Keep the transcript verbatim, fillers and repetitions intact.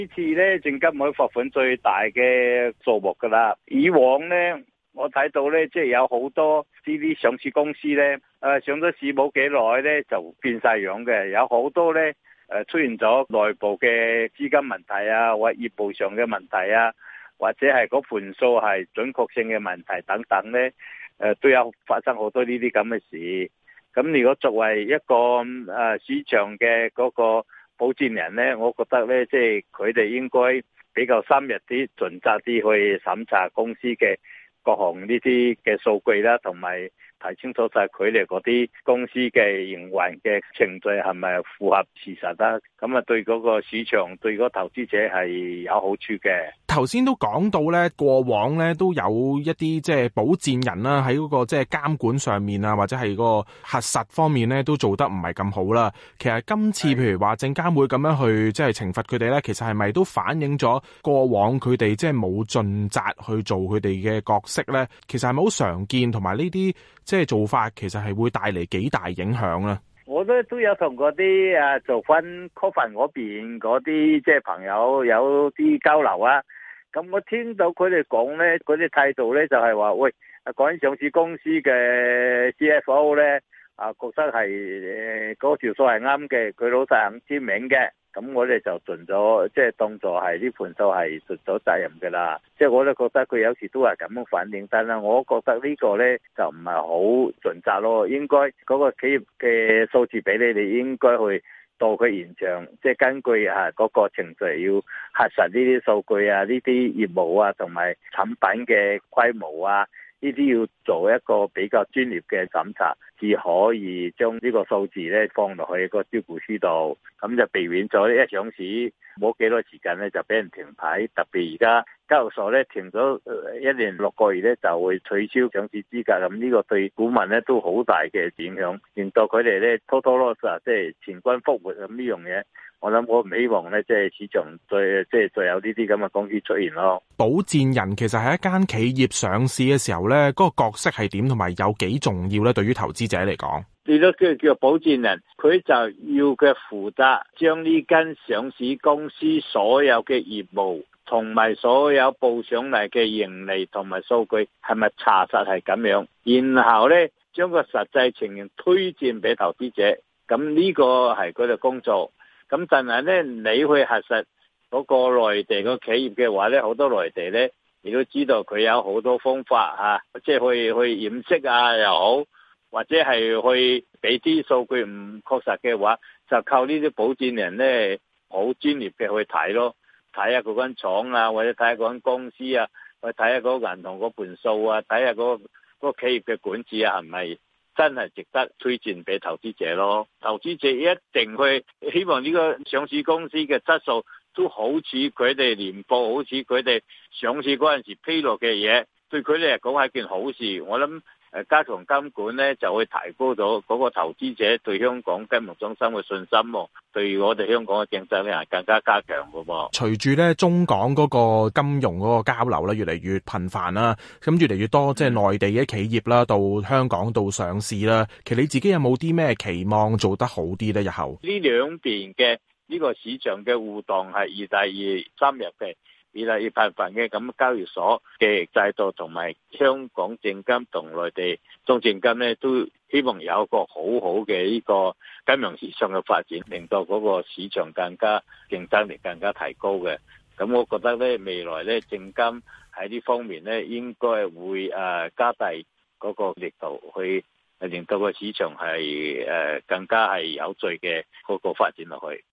呢次咧，證監會罰款最大嘅數目噶啦。以往咧，我睇到咧，即係有好多呢啲上市公司咧，誒上咗市冇幾耐咧就變晒樣嘅，有好多咧誒出現咗內部嘅資金問題啊，或業務上嘅問題啊，或者係嗰盤數係準確性嘅問題等等咧，誒都有發生好多呢啲咁嘅事。咁如果作為一個誒市場嘅嗰個保薦人咧，我覺得咧，即係佢哋應該比較深入啲、盡責啲去審查公司嘅各項呢啲嘅數據啦，同埋睇清楚晒佢哋嗰啲公司嘅營運嘅程序係咪符合事實啦。咁啊，對嗰個市場、對嗰個投資者係有好處嘅。 頭先都講到咧，過往咧都有一啲即係保薦人啦，喺嗰個即係監管上面啊，或者係個核實方面咧，都做得唔係咁好啦。其實今次譬如話證監會咁樣去即係懲罰佢哋咧，其實係咪都反映咗過往佢哋即係冇盡責去做佢哋嘅角色咧？其實係咪好常見，同埋呢啲即係做法，其實係會帶嚟幾大影響咧？ 我都都有同嗰啲誒做翻 coffin 嗰邊嗰啲即係朋友有啲交流啊。咁我聽到佢哋講咧，嗰啲態度咧就係話，喂，講緊上市公司嘅 C F O 咧，啊覺得係誒嗰條數係啱嘅，佢老細肯簽名嘅，咁我哋就盡咗，即係當作係呢盤數係盡咗責任㗎啦。即係我都覺得佢有時都係咁樣反應，但係我覺得呢個咧就唔係好盡責咯。應該嗰個企業嘅數字俾你，你應該去到佢現場，即係根據啊嗰個程序要核實呢啲數據啊，呢啲業務啊，同埋產品嘅規模啊，呢啲要做一個比較專業嘅審查，至可以將呢個數字咧放落去個招股書度，咁就避免咗一上市冇幾多時間咧就俾人停牌。特別而家交易所咧停咗一年六個月咧就會取消上市資格，咁呢個對股民咧都好大嘅影響，令到佢哋咧拖拖拉拉，即係前軍復活咁呢樣嘢。我諗我唔希望咧，即係市場再即係再有呢啲咁嘅公司出現咯。 保薦人其實係一間企業上市嘅時候咧，嗰個角色係點，同埋有幾重要咧？對於投資者嚟講， 你都叫叫保薦人，佢就要嘅負責將呢間上市公司所有嘅業務同埋所有報上嚟嘅盈利同埋數據係咪查實係咁樣，然後咧將個實際情形推薦俾投資者，咁呢個係佢哋工作。咁但係咧，你去核實嗰個內地個企業嘅話咧，好多內地咧，你都知道佢有好多方法嚇，即係去去掩飾啊又好，或者係去俾啲數據唔確實嘅話，就靠呢啲保薦人咧，好專業嘅去睇咯，睇下嗰間廠啊，或者睇下嗰間公司啊，或者睇下嗰個銀行嗰盤數啊，睇下嗰個嗰個企業嘅管治啊，係咪真係值得推薦俾投資者咯？投資者一定去希望呢個上市公司嘅質素都好似佢哋年報，好似佢哋上市嗰陣時披露嘅嘢，對佢哋嚟講係件好事。我諗誒加強監管咧，就會提高咗嗰個投資者對香港金融中心嘅信心，對我哋香港嘅競爭力係更加加強嘅噃。 隨住咧中港嗰個金融嗰個交流咧越嚟越頻繁啦，咁越嚟越多即係內地嘅企業啦，到香港度上市啦。其實你自己有冇啲咩期望做得好啲咧？日後呢兩邊嘅呢個市場嘅互動係越嚟越深入嘅，越嚟越頻繁嘅，咁交易所嘅制度同埋香港證監同內地中證監咧，都希望有一個好好嘅呢個金融市場嘅發展，令到嗰個市場更加競爭力更加提高嘅。咁我覺得咧，未來咧證監喺呢方面咧，應該會誒加大嗰個力度去令到個市場係誒更加係有序嘅嗰個發展落去。